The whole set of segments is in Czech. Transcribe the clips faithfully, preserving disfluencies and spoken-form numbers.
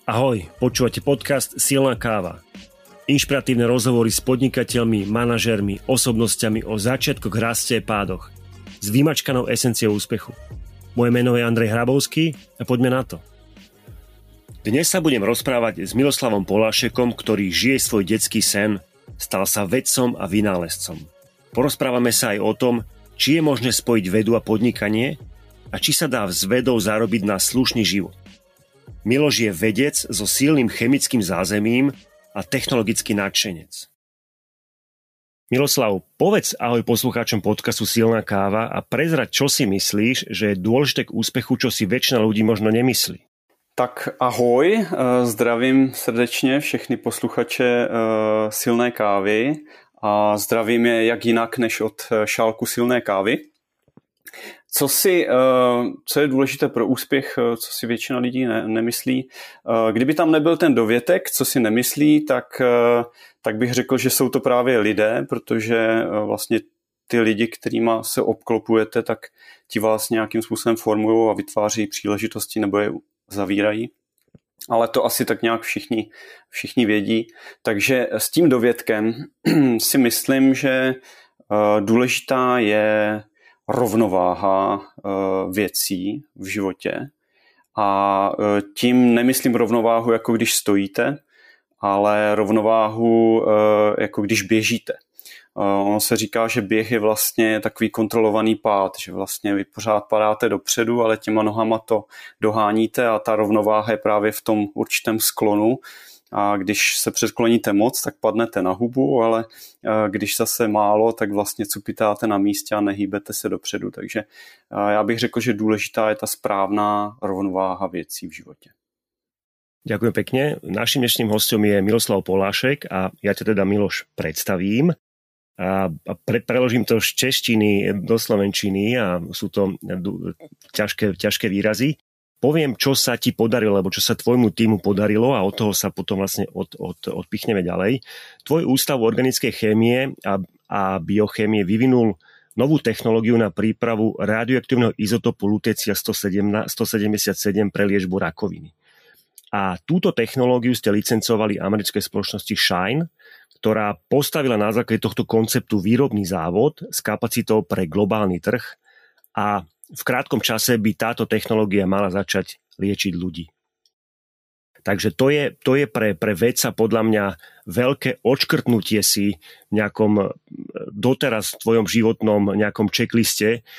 Ahoj, počúvate podcast Silná káva. Inšpiratívne rozhovory s podnikateľmi, manažérmi, osobnosťami o začiatkoch, raste a pádoch. S vymačkanou esenciou úspechu. Moje meno je Andrej Hrabovský a poďme na to. Dnes sa budem rozprávať s Miloslavom Polášekom, ktorý žije svoj detský sen, stal sa vedcom a vynálezcom. Porozprávame sa aj o tom, či je možné spojiť vedu a podnikanie a či sa dá s vedou zarobiť na slušný život. Miloš je vedec so silným chemickým zázemím a technologický nadšenec. Miloslav, povedz ahoj poslucháčom podcastu Silná káva a prezrať, čo si myslíš, že je dôležité k úspechu, čo si väčšina ľudí možno nemyslí. Tak ahoj, zdravím srdečně všechny posluchače Silné kávy a zdravím je jak jinak než od šálku silné kávy. Co, si, co je důležité pro úspěch, co si většina lidí ne, nemyslí. Kdyby tam nebyl ten dovětek, co si nemyslí, tak, tak bych řekl, že jsou to právě lidé, protože vlastně ty lidi, kterýma se obklopujete, tak ti vás nějakým způsobem formují a vytváří příležitosti nebo je zavírají. Ale to asi tak nějak všichni, všichni vědí. Takže s tím dovětkem si myslím, že důležitá je rovnováha věcí v životě. A tím nemyslím rovnováhu, jako když stojíte, ale rovnováhu, jako když běžíte. Ono se říká, že běh je vlastně takový kontrolovaný pád, že vlastně vy pořád padáte dopředu, ale těma nohama to doháníte a ta rovnováha je právě v tom určitém sklonu. A když se předkloníte moc, tak padnete na hubu, ale když zase málo, tak vlastně cupitáte na místě a nehýbete se dopředu. Takže já bych řekl, že důležitá je ta správná rovnováha věcí v životě. Ďakujem pekne. Naším dnešným hostom je Miloslav Polášek a ja ťa teda, Miloš, predstavím. A pre, preložím to z češtiny do slovenčiny a sú to ťažké, ťažké výrazy. Poviem, čo sa ti podarilo, alebo čo sa tvojmu týmu podarilo a od toho sa potom vlastne od, od, odpichneme ďalej. Tvoj ústav organickej chémie a, a biochémie vyvinul novú technológiu na prípravu radioaktívneho izotopu lutécia sto sedemdesiatsedem pre liečbu rakoviny. A túto technológiu ste licencovali americkej spoločnosti Shine, ktorá postavila na základe tohto konceptu výrobný závod s kapacitou pre globálny trh a v krátkom čase by táto technológia mala začať liečiť ľudí. Takže to je, to je pre, pre vedca podľa mňa veľké odškrtnutie si v nejakom doteraz v tvojom životnom nejakom checkliste. E,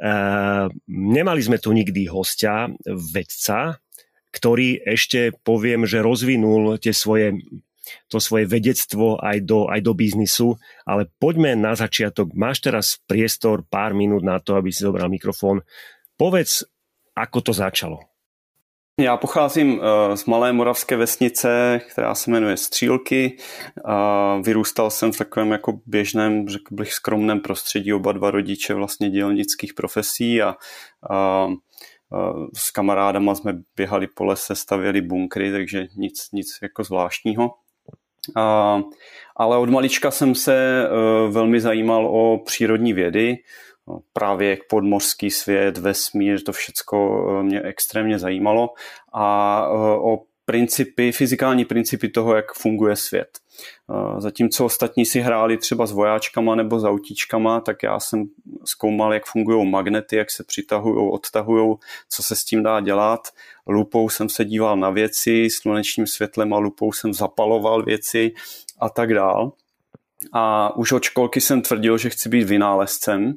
nemali sme tu nikdy hostia, vedca, ktorý ešte poviem, že rozvinul tie svoje to svoje vedectvo aj do, aj do biznisu, ale poďme na začiatok. Máš teraz priestor, pár minút na to, aby si zobral mikrofón. Povedz, ako to začalo. Já pocházím z malé moravské vesnice, která se jmenuje Střílky. Vyrůstal jsem v takovém jako běžném, řekl bych skromném prostředí, oba dva rodiče vlastně dělnických profesí a, a s kamarádama jsme běhali po lese, stavěli bunkry, takže nic, nic jako zvláštního. A, ale od malička jsem se uh, velmi zajímal o přírodní vědy, právě jak podmořský svět, vesmír, to všecko uh, mě extrémně zajímalo a uh, o principy, fyzikální principy toho, jak funguje svět. Uh, zatímco ostatní si hráli třeba s vojáčkama nebo s autíčkama, tak já jsem zkoumal, jak fungují magnety, jak se přitahují, odtahují, co se s tím dá dělat. Lupou jsem se díval na věci, slunečním světlem a lupou jsem zapaloval věci a tak dál. A už od školky jsem tvrdil, že chci být vynálezcem.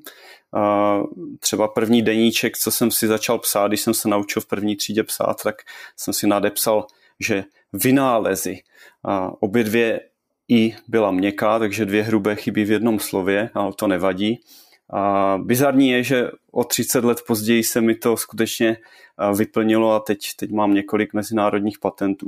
Třeba první deníček, co jsem si začal psát, když jsem se naučil v první třídě psát, tak jsem si nadepsal, že vynálezy. Obě dvě i byla měkká, takže dvě hrubé chybí v jednom slově, ale to nevadí. A bizarní je, že o třicet let později se mi to skutečně vyplnilo a teď, teď mám několik mezinárodních patentů.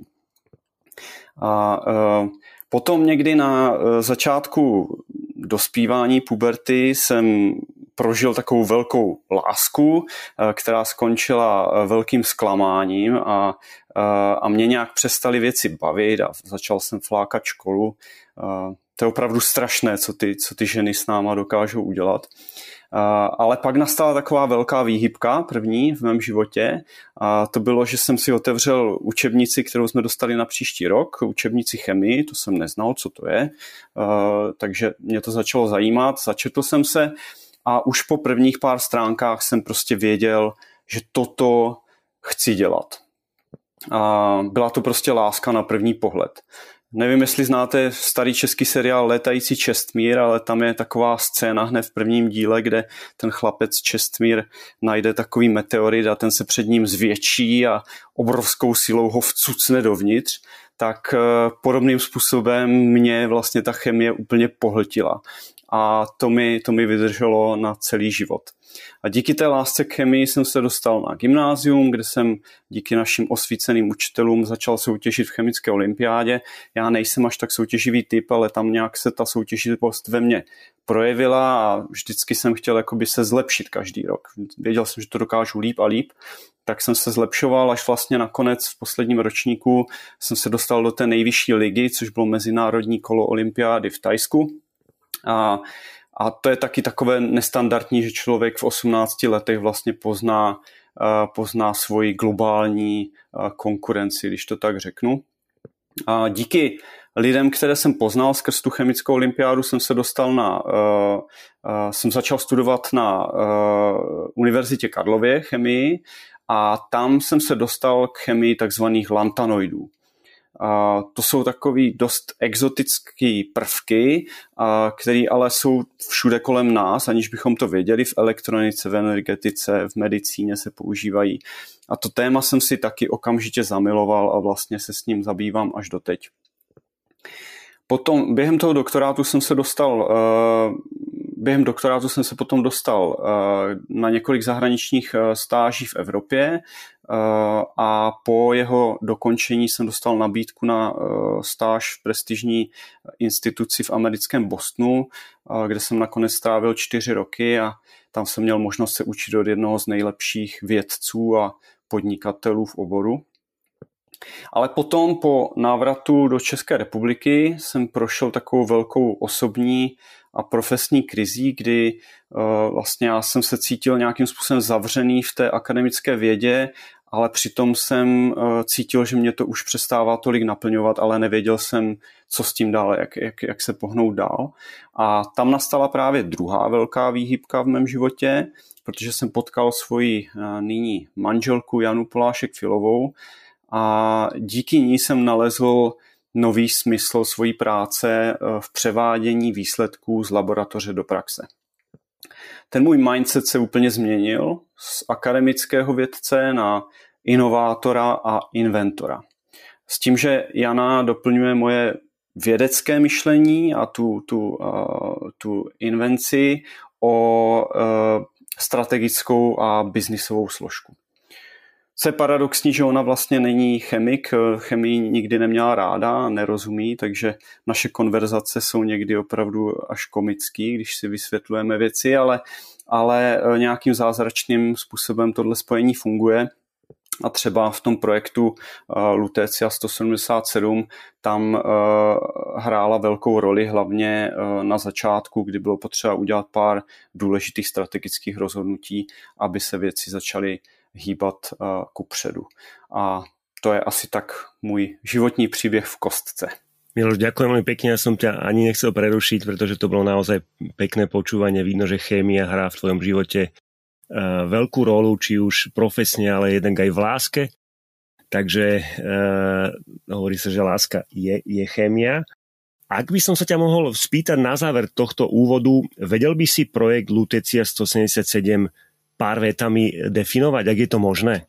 A e, potom někdy na začátku dospívání puberty jsem prožil takovou velkou lásku, která skončila velkým zklamáním a, a mě nějak přestaly věci bavit a začal jsem flákat školu. To je opravdu strašné, co ty, co ty ženy s náma dokážou udělat. Ale pak nastala taková velká výhybka, první v mém životě, a to bylo, že jsem si otevřel učebnici, kterou jsme dostali na příští rok, učebnici chemii, to jsem neznal, co to je, takže mě to začalo zajímat, začetl jsem se a už po prvních pár stránkách jsem prostě věděl, že toto chci dělat. A byla to prostě láska na první pohled. Nevím, jestli znáte starý český seriál Létající Čestmír, ale tam je taková scéna hned v prvním díle, kde ten chlapec Čestmír najde takový meteorit a ten se před ním zvětší a obrovskou silou ho vcucne dovnitř. Tak podobným způsobem mě vlastně ta chemie úplně pohltila. A to mi, to mi vydrželo na celý život. A díky té lásce k chemii jsem se dostal na gymnázium, kde jsem díky našim osvíceným učitelům začal soutěžit v chemické olympiádě. Já nejsem až tak soutěživý typ, ale tam nějak se ta soutěživost ve mně projevila a vždycky jsem chtěl jakoby se zlepšit každý rok. Věděl jsem, že to dokážu líp a líp, tak jsem se zlepšoval, až vlastně nakonec v posledním ročníku jsem se dostal do té nejvyšší ligy, což bylo mezinárodní kolo olympiády v Thajsku. A A to je taky takové nestandardní, že člověk v osmnácti letech vlastně pozná, pozná svoji globální konkurenci, když to tak řeknu. A díky lidem, které jsem poznal skrz tu chemickou olympiádu, jsem se dostal na, jsem začal studovat na Univerzitě Karlově chemii a tam jsem se dostal k chemii takzvaných lantanoidů. A to jsou takový dost exotické prvky, které ale jsou všude kolem nás, aniž bychom to věděli. V elektronice, v energetice, v medicíně se používají. A to téma jsem si taky okamžitě zamiloval a vlastně se s ním zabývám až doteď. Potom během toho doktorátu jsem se dostal, během doktorátu jsem se potom dostal na několik zahraničních stáží v Evropě a po jeho dokončení jsem dostal nabídku na stáž v prestižní instituci v americkém Bostonu, kde jsem nakonec strávil čtyři roky a tam jsem měl možnost se učit od jednoho z nejlepších vědců a podnikatelů v oboru. Ale potom po návratu do České republiky jsem prošel takovou velkou osobní a profesní krizí, kdy uh, vlastně já jsem se cítil nějakým způsobem zavřený v té akademické vědě, ale přitom jsem uh, cítil, že mě to už přestává tolik naplňovat, ale nevěděl jsem, co s tím dál, jak, jak, jak se pohnout dál. A tam nastala právě druhá velká výhybka v mém životě, protože jsem potkal svoji uh, nyní manželku Janu Polášek-Filovou, a díky ní jsem nalezl nový smysl svojí práce v převádění výsledků z laboratoře do praxe. Ten můj mindset se úplně změnil z akademického vědce na inovátora a inventora. S tím, že Jana doplňuje moje vědecké myšlení a tu, tu, uh, tu invenci o uh, strategickou a biznisovou složku. Co je paradoxní, že ona vlastně není chemik, chemii nikdy neměla ráda, nerozumí, takže naše konverzace jsou někdy opravdu až komický, když si vysvětlujeme věci, ale, ale nějakým zázračným způsobem tohle spojení funguje. A třeba v tom projektu uh, Lutecia sto sedmdesát sedm tam uh, hrála velkou roli hlavně uh, na začátku, kdy bylo potřeba udělat pár důležitých strategických rozhodnutí, aby se věci začaly hýbat uh, kupředu. A to je asi tak můj životní příběh v kostce. Miloš, ďakujem veľmi pekne, ja som ťa ani nechcel prerušiť, pretože to bolo naozaj pekné počúvanie. Vidno, že chémia hrá v tvojom živote uh, veľkú rolu, či už profesne, ale jeden aj v láske. Takže uh, hovorí sa, že láska je, je chémia. Ak by som sa ťa mohol spýtať na záver tohto úvodu, vedel by si projekt Lutecia sto sedemdesiatsedem pár vetami definovať, ak je to možné?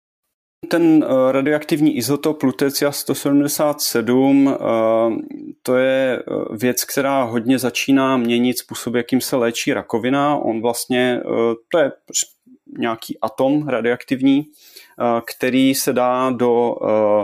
Ten radioaktivní izotop Lutecia sto sedmdesát sedm, to je věc, která hodně začíná měnit způsob, jakým se léčí rakovina. On vlastně, to je nějaký atom radioaktivní, který se dá do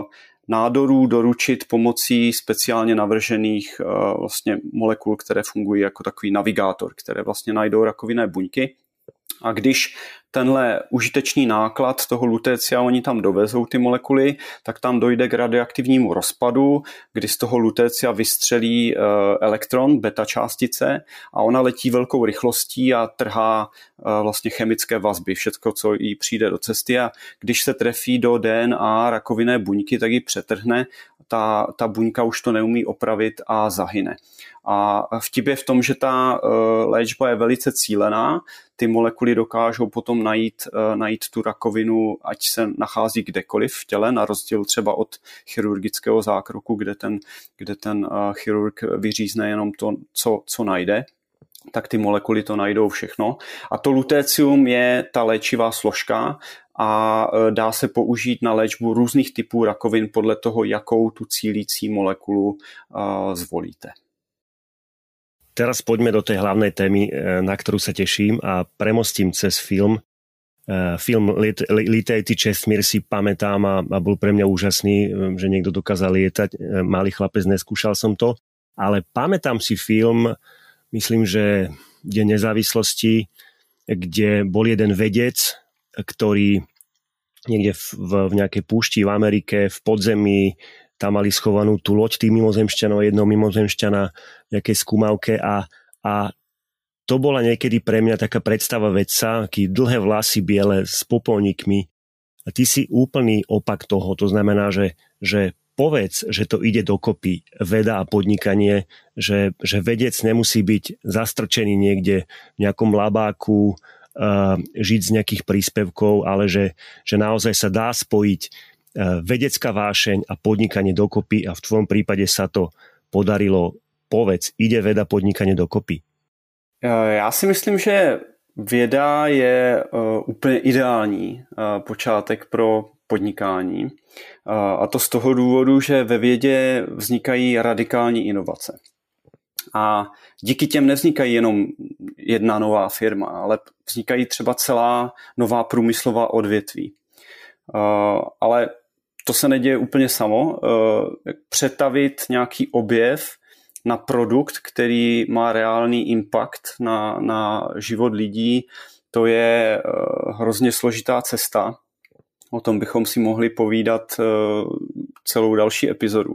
nádorů doručit pomocí speciálně navržených vlastně molekul, které fungují jako takový navigátor, které vlastně najdou rakovinné buňky. A když tenhle užitečný náklad toho lutécia oni tam dovezou ty molekuly, tak tam dojde k radioaktivnímu rozpadu, kdy z toho lutécia vystřelí elektron, beta částice a ona letí velkou rychlostí a trhá vlastně chemické vazby, všecko, co jí přijde do cesty a když se trefí do D N A rakovinné buňky, tak ji přetrhne, ta, ta buňka už to neumí opravit a zahyne. A vtip je v tom, že ta léčba je velice cílená, ty molekuly dokážou potom najít, najít tu rakovinu, ať se nachází kdekoliv v těle, na rozdíl třeba od chirurgického zákroku, kde ten, kde ten chirurg vyřízne jenom to, co, co najde, tak ty molekuly to najdou všechno. A to lutécium je ta léčivá složka a dá se použít na léčbu různých typů rakovin podle toho, jakou tu cílící molekulu zvolíte. Teraz poďme do tej hlavnej témy, na ktorú sa teším a premostím cez film. Film Lítajte česmír si pamätám a, a bol pre mňa úžasný, že niekto dokázal lietať. Malý chlapec, neskúšal som to, ale pamätám si film, myslím, že Deň nezávislosti, kde bol jeden vedec, ktorý niekde v, v, v nejakej púšti v Amerike, v podzemí, tam mali schovanú tú loď tých mimozemšťanov, jednou mimozemšťana v nejakej skúmavke a, a to bola niekedy pre mňa taká predstava vedca, aký dlhé vlasy biele s popolníkmi a ty si úplný opak toho, to znamená, že, že povedz, že to ide dokopy veda a podnikanie, že, že vedec nemusí byť zastrčený niekde v nejakom labáku, uh, žiť z nejakých príspevkov, ale že, že naozaj sa dá spojiť vedecká vášeň a podnikanie dokopy a v tvojom prípade sa to podarilo. Povedz, ide veda podnikanie dokopy? Já si myslím, že věda je úplně ideální počátek pro podnikání. A to z toho důvodu, že ve vědě vznikají radikální inovace. A díky těm nevznikají jenom jedna nová firma, ale vznikají třeba celá nová průmyslová odvětví. Ale to se neděje úplně samo. Přetavit nějaký objev na produkt, který má reálný impact na, na život lidí, to je hrozně složitá cesta. O tom bychom si mohli povídat celou další epizodu.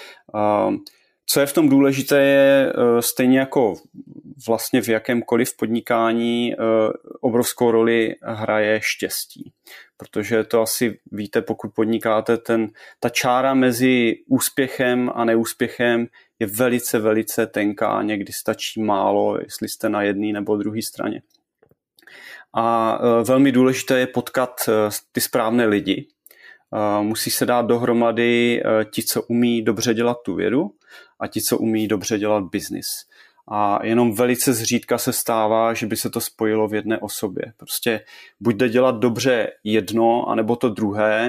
Co je v tom důležité, je stejně jako vlastně v jakémkoliv podnikání obrovskou roli hraje štěstí. Protože to asi víte, pokud podnikáte, ten, ta čára mezi úspěchem a neúspěchem je velice, velice tenká. Někdy stačí málo, jestli jste na jedné nebo druhé straně. A velmi důležité je potkat ty správné lidi. Musí se dát dohromady ti, co umí dobře dělat tu vědu a ti, co umí dobře dělat biznis. A jenom velice zřídka se stává, že by se to spojilo v jedné osobě. Prostě buď jde dělat dobře jedno, anebo to druhé.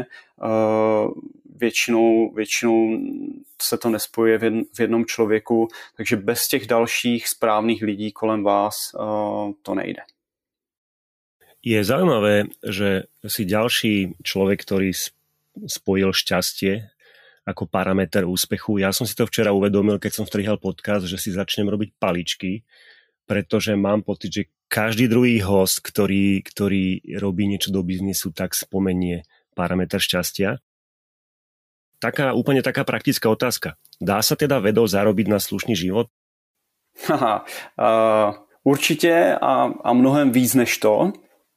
Většinou, většinou se to nespojuje v jednom člověku, takže bez těch dalších správných lidí kolem vás to nejde. Je zaujímavé, že si ďalší človek, ktorý spojil šťastie ako parameter úspechu. Ja som si to včera uvedomil, keď som strihal podcast, že si začnem robiť paličky, pretože mám pocit, že každý druhý host, ktorý, ktorý robí niečo do biznisu, tak spomenie parameter šťastia. Taká, úplne taká praktická otázka. Dá sa teda vedou zarobiť na slušný život? Haha, uh, určitě a, a mnohem víc než to.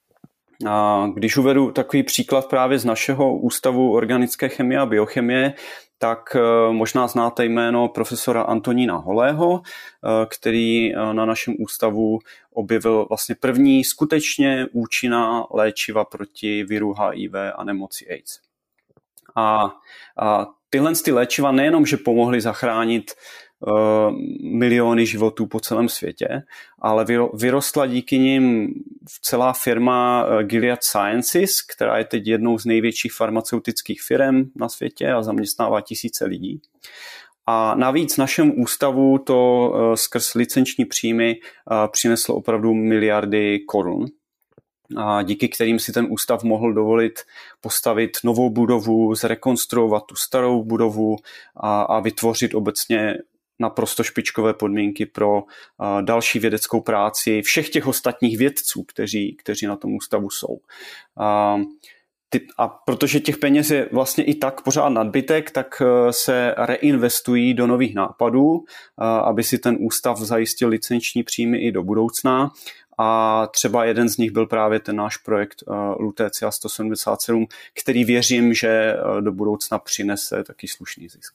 A když uvedu takový příklad právě z našeho Ústavu organické chemie a biochemie, tak možná znáte jméno profesora Antonína Holého, který na našem ústavu objevil vlastně první skutečně účinná léčiva proti viru H I V a nemoci AIDS. A, a tyhle ty léčiva nejenom, že pomohly zachránit miliony životů po celém světě, ale vyrostla díky nim celá firma Gilead Sciences, která je teď jednou z největších farmaceutických firm na světě a zaměstnává tisíce lidí. A navíc našemu ústavu to skrz licenční příjmy přineslo opravdu miliardy korun, a díky kterým si ten ústav mohl dovolit postavit novou budovu, zrekonstruovat tu starou budovu a, a vytvořit obecně naprosto špičkové podmínky pro další vědeckou práci všech těch ostatních vědců, kteří, kteří na tom ústavu jsou. A protože těch peněz je vlastně i tak pořád nadbytek, tak se reinvestují do nových nápadů, aby si ten ústav zajistil licenční příjmy i do budoucna. A třeba jeden z nich byl právě ten náš projekt Lutetia sto sedmdesát sedm, který věřím, že do budoucna přinese taký slušný zisk.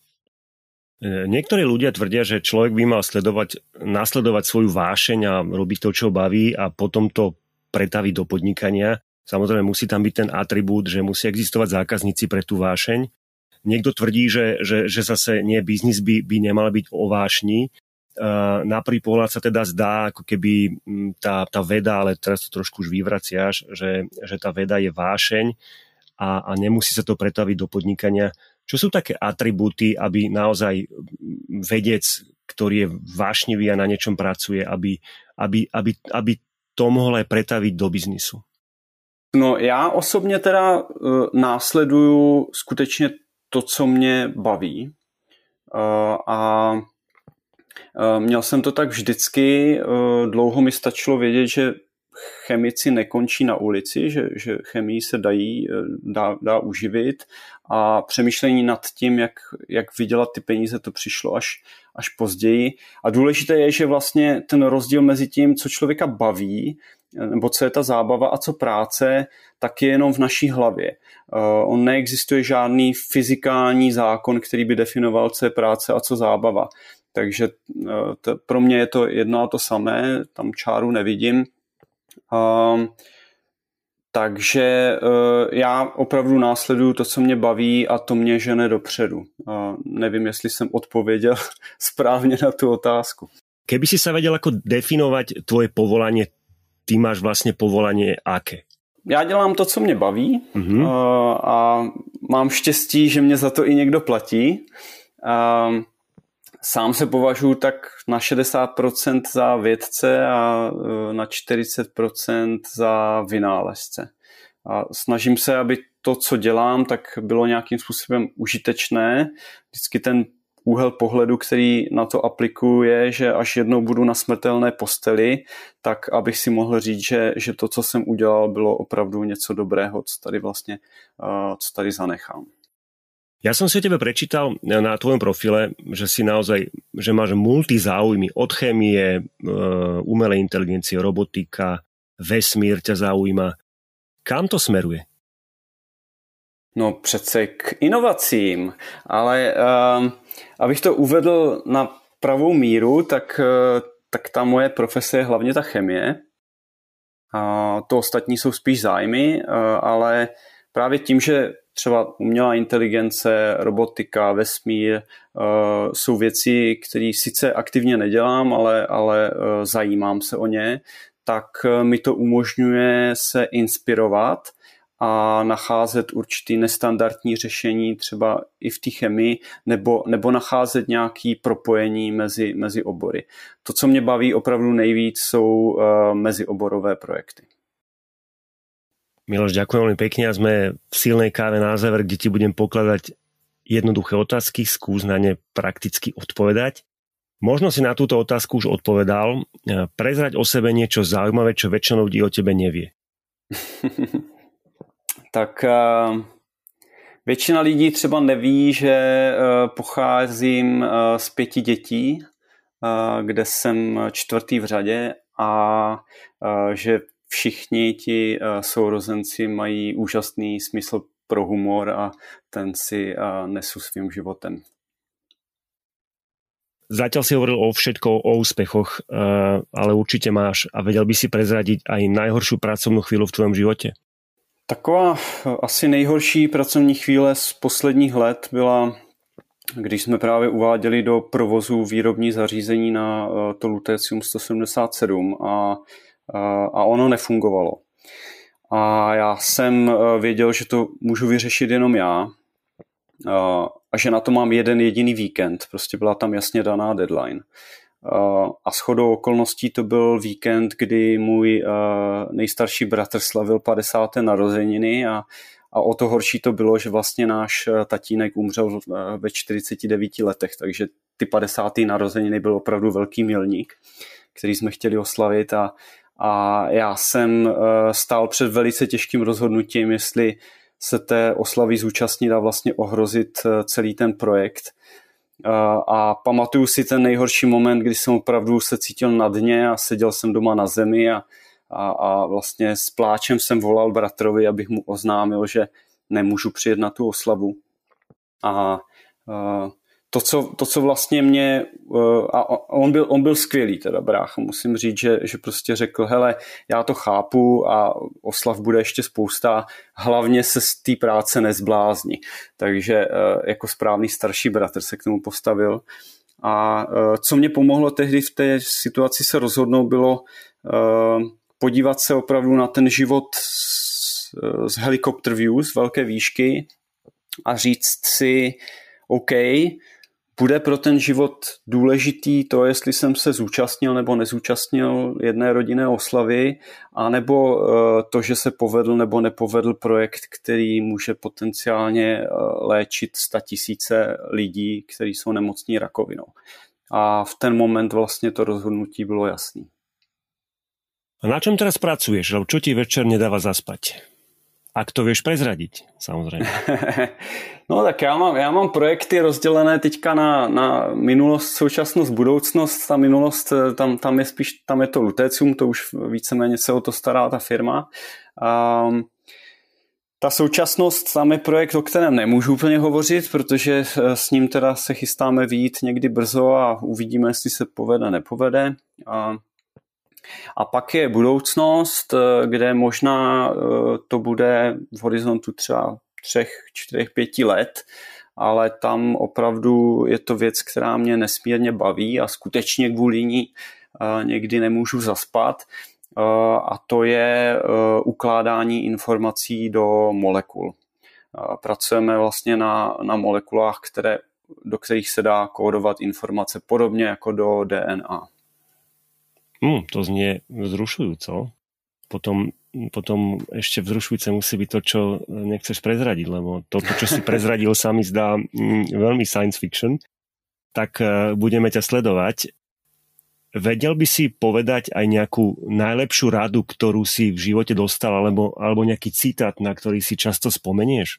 Niektorí ľudia tvrdia, že človek by mal sledovať, nasledovať svoju vášeň a robiť to, čo baví a potom to pretaviť do podnikania. Samozrejme musí tam byť ten atribút, že musí existovať zákazníci pre tú vášeň. Niekto tvrdí, že, že, že zase nie, biznis by, by nemal byť o vášni. Na prvý pohľad sa teda zdá, ako keby tá, tá veda, ale teraz to trošku už vyvraciaš, že, že tá veda je vášeň a, a nemusí sa to pretaviť do podnikania. Čo sú také atribúty, aby naozaj vedec, ktorý je vášnivý a na niečom pracuje, aby, aby, aby, aby to mohol aj pretaviť do biznisu? No já osobně teda uh, následuju skutečně to, co mě baví. Uh, a uh, měl jsem to tak vždycky. Uh, dlouho mi stačilo vědět, že chemici nekončí na ulici, že, že chemii se dají, dá, dá uživit a přemýšlení nad tím, jak, jak vydělat ty peníze, to přišlo až, až později. A důležité je, že vlastně ten rozdíl mezi tím, co člověka baví, nebo co je ta zábava a co práce, tak je jenom v naší hlavě. Uh, on neexistuje žádný fyzikální zákon, který by definoval, co je práce a co zábava. Takže uh, to, pro mě je to jedno a to samé, tam čáru nevidím. Uh, takže uh, já opravdu následuju to, co mě baví a to mě žene dopředu. Uh, nevím, jestli jsem odpověděl správně na tu otázku. Keby si sa vedel ako definovať tvoje povolanie, ty máš vlastně povolanie aké? Já dělám to, co mě baví mm-hmm. uh, a mám štěstí, že mě za to i někdo platí. Uh, Sám se považuji tak na šedesát procent za vědce a na čtyřicet procent za vynálezce. A snažím se, aby to, co dělám, tak bylo nějakým způsobem užitečné. Vždycky ten úhel pohledu, který na to aplikuju, je, že až jednou budu na smrtelné posteli, tak abych si mohl říct, že, že to, co jsem udělal, bylo opravdu něco dobrého, co tady vlastně, co tady zanechám. Ja som si o tebe prečítal na tvojom profile, že si naozaj, že máš multizáujmy od chémie, umelej inteligencie, robotika, vesmír ťa zaujíma. Kam to smeruje? No přece k inovacím, ale uh, abych to uvedl na pravou míru, tak, uh, tak ta moje profese je hlavně ta chemie. A to ostatní jsou spíš zájmy, uh, ale právě tím, že třeba umělá inteligence, robotika, vesmír uh, jsou věci, které sice aktivně nedělám, ale, ale uh, zajímám se o ně, tak uh, mi to umožňuje se inspirovat a nacházet určitý nestandardní řešení třeba i v té chemii nebo, nebo nacházet nějaké propojení mezi, mezi obory. To, co mě baví opravdu nejvíc, jsou uh, mezioborové projekty. Miloš, ďakujem veľmi pekne a sme v silnej káve na záver, kde ti budem pokladať jednoduché otázky, skús na ne prakticky odpovedať. Možno si na túto otázku už odpovedal. Prezrať o sebe niečo zaujímavé, čo väčšinou ľudí o tebe nevie. Tak uh, většina lidí třeba neví, že uh, pocházím uh, z pěti dětí, uh, kde jsem čtvrtý v řadě a uh, že všichni ti uh, sourozenci mají úžasný smysl pro humor a ten si uh, nesu svým životem. Zatiaľ si hovoril o všetko, o úspechoch, uh, ale určite máš a vedel by si prezradiť aj najhoršiu pracovnú chvíľu v tvojom živote? Taková asi nejhorší pracovní chvíle z posledních let byla, když jsme právě uváděli do provozu výrobní zařízení na uh, to Lutetium sto sedmdesát sedm a a ono nefungovalo. A já jsem věděl, že to můžu vyřešit jenom já a že na to mám jeden jediný víkend. Prostě byla tam jasně daná deadline. a shodou okolností to byl víkend, kdy můj nejstarší bratr slavil padesáté narozeniny a, a o to horší to bylo, že vlastně náš tatínek umřel ve čtyřiceti devíti letech, takže ty padesáté narozeniny byl opravdu velký milník, který jsme chtěli oslavit a, a já jsem stál před velice těžkým rozhodnutím, jestli se té oslavy zúčastnit a vlastně ohrozit celý ten projekt. A pamatuju si ten nejhorší moment, kdy jsem opravdu se cítil na dně a seděl jsem doma na zemi a, a, a vlastně s pláčem jsem volal bratrovi, abych mu oznámil, že nemůžu přijet na tu oslavu. A, a to, co, to, co vlastně mě... A on byl, on byl skvělý, teda brácha, musím říct, že, že prostě řekl, hele, já to chápu a oslav bude ještě spousta, hlavně se z té práce nezblázni. Takže jako správný starší bratr se k tomu postavil. A co mě pomohlo tehdy v té situaci se rozhodnout, bylo podívat se opravdu na ten život z, z helicopter view, z velké výšky a říct si, OK, bude pro ten život důležitý to, jestli jsem se zúčastnil nebo nezúčastnil jedné rodinné oslavy, anebo to, že se povedl nebo nepovedl projekt, který může potenciálně léčit statisíce lidí, kteří jsou nemocní rakovinou. A v ten moment vlastně to rozhodnutí bylo jasné. A na čom teraz pracuješ? Čo ti večer nedáva zaspať? Ak to vieš prezradiť, samozrejme. No tak já mám, já mám projekty rozdělené teďka na, na minulost, současnost, budoucnost. Ta minulost, tam, tam je spíš, tam je to Lutecium, to už víceméně se o to stará ta firma. Um, ta současnost, tam je projekt, o kterém nemůžu úplně hovořit, protože s ním teda se chystáme vyjít někdy brzo a uvidíme, jestli se povede, nepovede. Um, A pak je budoucnost, kde možná to bude v horizontu třeba třech, čtyřech, pěti let, ale tam opravdu je to věc, která mě nesmírně baví a skutečně kvůli ní někdy nemůžu zaspat. A to je ukládání informací do molekul. Pracujeme vlastně na, na molekulách, které, do kterých se dá kódovat informace podobně jako do D N A. Hmm, to znie vzrušujúco. Potom, potom ešte vzrušujúce musí byť to, čo nechceš prezradiť, lebo to, čo si prezradil, sa mi zdá mm, veľmi science fiction. Tak uh, budeme ťa sledovať. Vedel by si povedať aj nejakú najlepšiu radu, ktorú si v živote dostal, alebo, alebo nejaký citát, na ktorý si často spomenieš?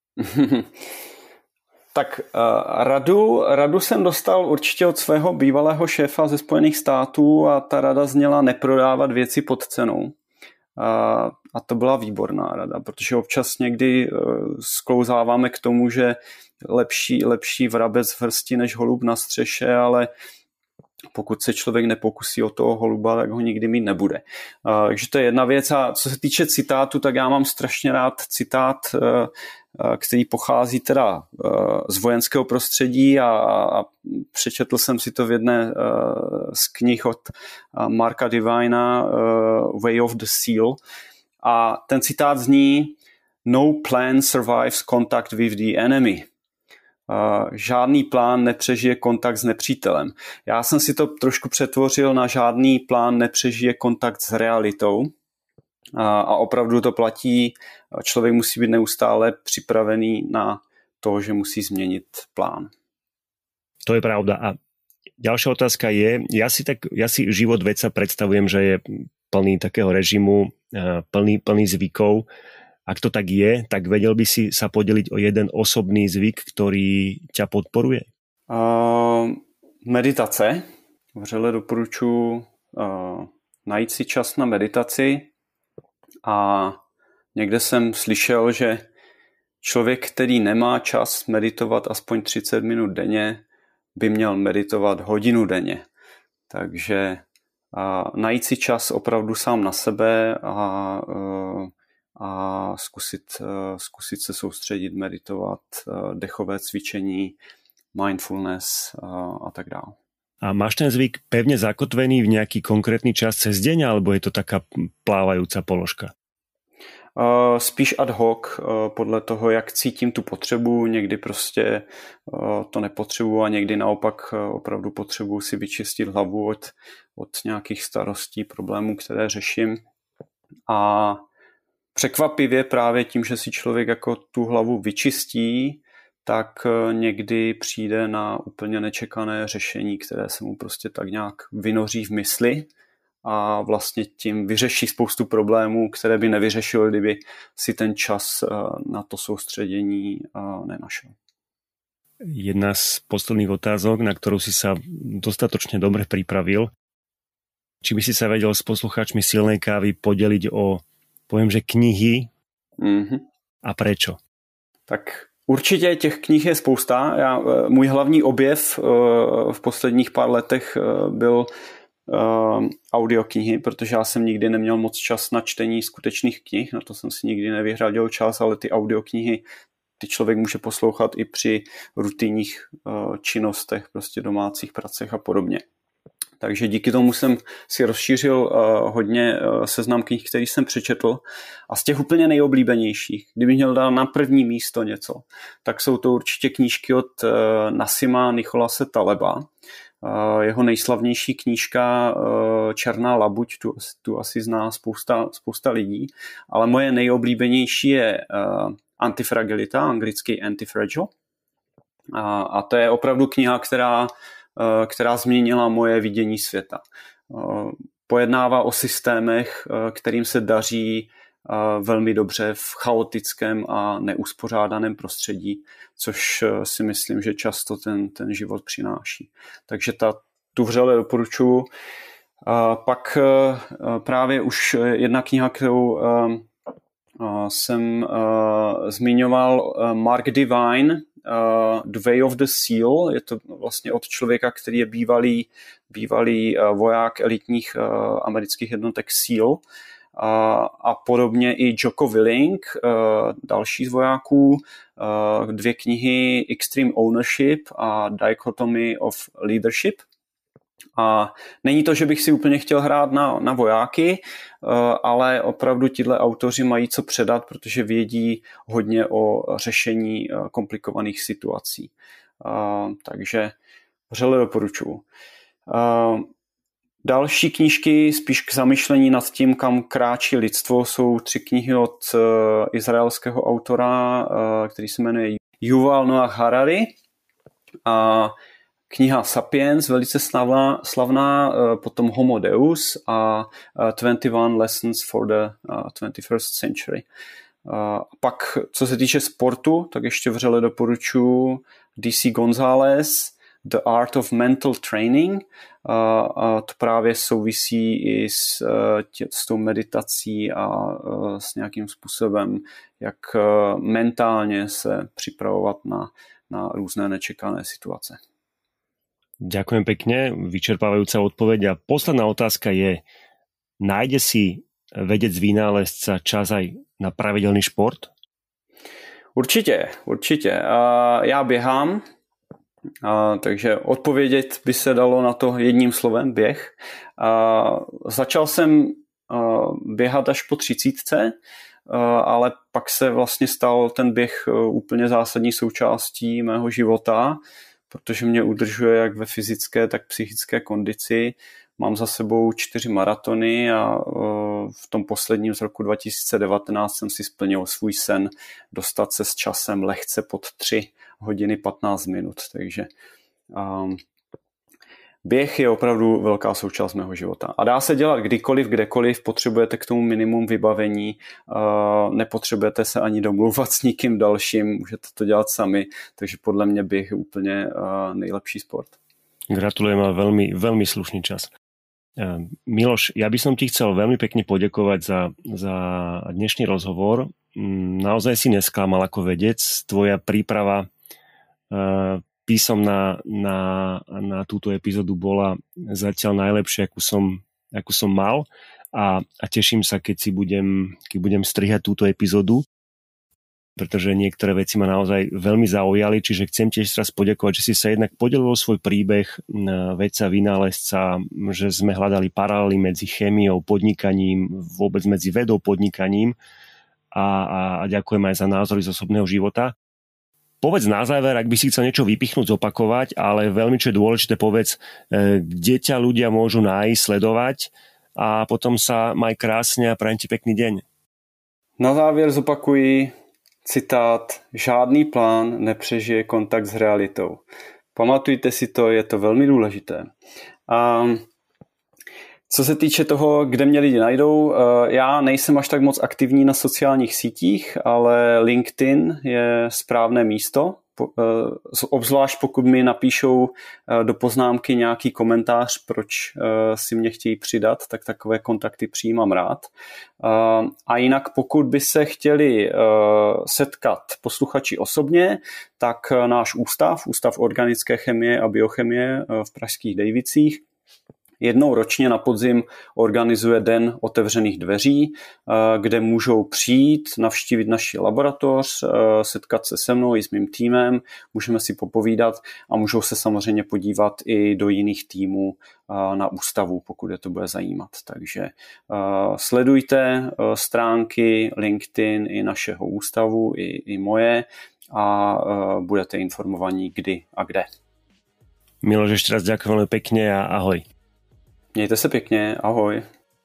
Tak uh, radu, radu jsem dostal určitě od svého bývalého šéfa ze Spojených států a ta rada zněla neprodávat věci pod cenou. Uh, a to byla výborná rada, protože občas někdy uh, sklouzáváme k tomu, že lepší, lepší vrabec v hrsti než holub na střeše, ale pokud se člověk nepokusí o toho holuba, tak ho nikdy mít nebude. Uh, takže to je jedna věc. A co se týče citátu, tak já mám strašně rád citát, uh, který pochází teda z vojenského prostředí a, a přečetl jsem si to v jedné z knih od Marka Divina Way of the Seal a ten citát zní No plan survives contact with the enemy. Žádný plán nepřežije kontakt s nepřítelem. Já jsem si to trošku přetvořil na žádný plán nepřežije kontakt s realitou. A opravdu to platí, člověk musí být neustále připravený na to, že musí změnit plán. To je pravda. A ďalšia otázka je, ja si, tak, ja si život vedca predstavujem, že je plný takého režimu, plný, plný zvykov. Ak to tak je, tak vedel by si sa podeliť o jeden osobný zvyk, ktorý ťa podporuje? Uh, meditace. Vřele doporučuji uh, najít si čas na meditaci. A někde jsem slyšel, že člověk, který nemá čas meditovat aspoň třicet minut denně, by měl meditovat hodinu denně. Takže a, najít si čas opravdu sám na sebe a, a zkusit, zkusit se soustředit, meditovat, dechové cvičení, mindfulness a, a tak dále. A máš ten zvyk pevne zakotvený v nejaký konkrétny čas cez deň, alebo je to taká plávajúca položka? Uh, spíš ad hoc, uh, podle toho, jak cítím tu potřebu. Někdy prostě uh, to nepotřebuji a někdy naopak uh, opravdu potřebuji si vyčistit hlavu od, od nějakých starostí, problémů, které řeším. A překvapivě právě tím, že si člověk jako tu hlavu vyčistí, tak uh, někdy přijde na úplně nečekané řešení, které se mu prostě tak nějak vynoří v mysli. A vlastně tím vyřeší spoustu problémů, které by nevyřešil, kdyby si ten čas na to soustředění nenašel. Jedna z posledných otázok, na ktorú si sa dostatočne dobre pripravil. Či by si sa vedel s poslucháčmi Silnej kávy podeliť o, poviem, že knihy mm-hmm. a prečo? Tak určitě těch knih je spousta. Já, můj hlavní objev v posledních pár letech byl Uh, audioknihy, protože já jsem nikdy neměl moc čas na čtení skutečných knih, na to jsem si nikdy nevyhradil čas, ale ty audioknihy, ty člověk může poslouchat i při rutinních uh, činnostech, prostě domácích pracech a podobně. Takže díky tomu jsem si rozšířil uh, hodně uh, seznam knih, který jsem přečetl a z těch úplně nejoblíbenějších, kdybych měl dát na první místo něco, tak jsou to určitě knížky od uh, Nassima Nicholase Taleba. Jeho nejslavnější knížka Černá labuť, tu, tu asi zná spousta, spousta lidí, ale moje nejoblíbenější je Antifragilita, anglicky Antifragile. A, a to je opravdu kniha, která, která změnila moje vidění světa. Pojednává o systémech, kterým se daří velmi dobře v chaotickém a neuspořádaném prostředí, což si myslím, že často ten, ten život přináší. Takže ta, tu vřele doporučuji. Pak právě už jedna kniha, kterou jsem zmiňoval, Mark Divine, The Way of the Seal. Je to vlastně od člověka, který je bývalý, bývalý voják elitních amerických jednotek SEAL. A, a podobně i Jocko Willink, další z vojáků, dvě knihy Extreme Ownership a Dichotomy of Leadership. A není to, že bych si úplně chtěl hrát na, na vojáky, ale opravdu tihle autoři mají co předat, protože vědí hodně o řešení komplikovaných situací. Takže vřele doporučuji. Další knížky, spíš k zamyšlení nad tím, kam kráčí lidstvo, jsou tři knihy od uh, izraelského autora, uh, který se jmenuje Yuval Noah Harari. A kniha Sapiens, velice slavná, slavná uh, potom Homo Deus a uh, twenty one Lessons for the uh, twenty-first century. Uh, pak, co se týče sportu, tak ještě vřele doporučuji D C González, The Art of Mental Training. A to právě souvisí i s, tě, s tou meditací a s nějakým způsobem, jak mentálně se připravovat na, na různé nečekané situace. Ďakujem pekne, vyčerpávajúca odpoveď. A posledná otázka je, nájde si vedec vynálezca čas aj na pravidelný šport? Určitě, určitě. Já běhám, A, takže odpovědět by se dalo na to jedním slovem, běh. A, začal jsem a, běhat až po třicítce, a, ale pak se vlastně stal ten běh úplně zásadní součástí mého života, protože mě udržuje jak ve fyzické, tak psychické kondici. Mám za sebou čtyři maratony a a v tom posledním z roku dva tisíce devatenáct jsem si splnil svůj sen dostat se s časem lehce pod tři hodiny patnáct minut, takže um, běh je opravdu velká součást mého života. A dá se dělat kdykoliv, kdekoliv, potřebujete k tomu minimum vybavení, uh, nepotřebujete se ani domluvat s nikým dalším, můžete to dělat sami, takže podle mě běh je úplně uh, nejlepší sport. Gratulujem, ale veľmi, veľmi slušný čas. Miloš, ja by som ti chcel veľmi pekne poďakovať za, za dnešný rozhovor. Naozaj si nesklamal ako vedec. Tvoja príprava písomná na, na túto epizódu bola zatiaľ najlepšia, akú som, akú som mal. A, a teším sa, keď si budem, keď budem strihať túto epizódu, pretože niektoré veci ma naozaj veľmi zaujali, čiže chcem tiež raz poďakovať, že si sa jednak podelil svoj príbeh vedca, vynálezca, že sme hľadali paralely medzi chémiou, podnikaním, vôbec medzi vedou, podnikaním a, a ďakujem aj za názory z osobného života. Povedz na záver, ak by si chcel niečo vypichnúť, zopakovať, ale veľmi čo je dôležité, povedz, kde ťa ľudia môžu nájsť, sledovať a potom sa maj krásne a prajem ti pekný deň. Na závěr zopakuji citát: žádný plán nepřežije kontakt s realitou. Pamatujte si to, je to velmi důležité. A co se týče toho, kde mě lidi najdou, já nejsem až tak moc aktivní na sociálních sítích, ale LinkedIn je správné místo, obzvlášť pokud mi napíšou do poznámky nějaký komentář, proč si mě chtějí přidat, tak takové kontakty přijímám rád. A jinak pokud by se chtěli setkat posluchači osobně, tak náš ústav, Ústav organické chemie a biochemie v pražských Dejvicích, jednou ročně na podzim organizuje Den otevřených dveří, kde můžou přijít, navštívit naši laboratoř, setkat se se mnou i s mým týmem, můžeme si popovídat a můžou se samozřejmě podívat i do jiných týmů na ústavu, pokud je to bude zajímat. Takže sledujte stránky LinkedIn i našeho ústavu, i, i moje a budete informovaní kdy a kde. Miloš, ešte raz ďakujem veľmi pekne a ahoj. Mějte se pěkně, ahoj.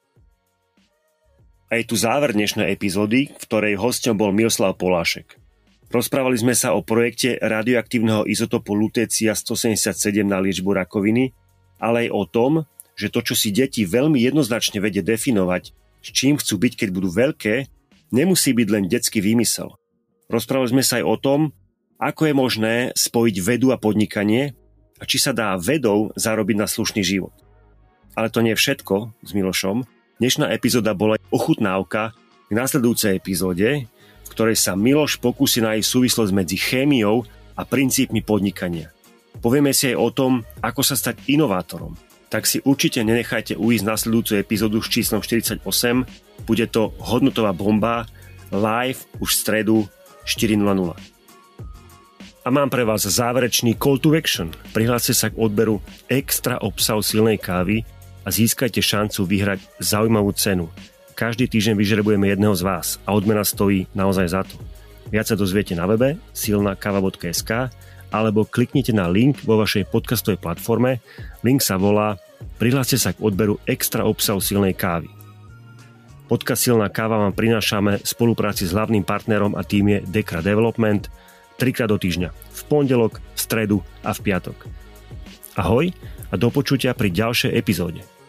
A je tu záver dnešnej epizódy, v ktorej hosťom bol Miroslav Polášek. Rozprávali sme sa o projekte radioaktívneho izotopu lutécia stosedemdesiatsedem na liečbu rakoviny, ale aj o tom, že to, čo si deti veľmi jednoznačne vedie definovať, s čím chcú byť, keď budú veľké, nemusí byť len detský výmysel. Rozprávali sme sa aj o tom, ako je možné spojiť vedu a podnikanie a či sa dá vedou zarobiť na slušný život. Ale to nie je všetko s Milošom. Dnešná epizóda bola ochutnávka k nasledujúcej epizóde, v ktorej sa Miloš pokúsi nájsť súvislosť medzi chémiou a princípmi podnikania. Povieme si aj o tom, ako sa stať inovátorom. Tak si určite nenechajte uísť nasledujúcu epizódu s číslom štyridsaťosem. Bude to hodnotová bomba live už v stredu štyri nula nula. A mám pre vás záverečný call to action. Prihláste sa k odberu extra obsahu silnej kávy a získajte šancu vyhrať zaujímavú cenu. Každý týždeň vyžrebujeme jedného z vás a odmena stojí naozaj za to. Viac sa dozviete na webe silna kava bodka es ká alebo kliknite na link vo vašej podcastovej platforme. Link sa volá Prihláste sa k odberu extra obsahu silnej kávy. Podcast Silná káva vám prinášame v spolupráci s hlavným partnerom a tým je Dekra Development trikrát do týždňa. V pondelok, v stredu a v piatok. Ahoj a do počutia pri ďalšej epizóde.